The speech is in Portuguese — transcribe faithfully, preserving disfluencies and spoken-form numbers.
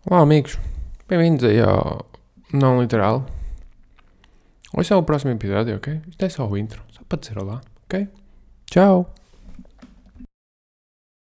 Olá amigos, bem-vindos aí ao Não Literal. Hoje é o próximo episódio, ok? Isto é só o intro, só para dizer olá, ok? Tchau!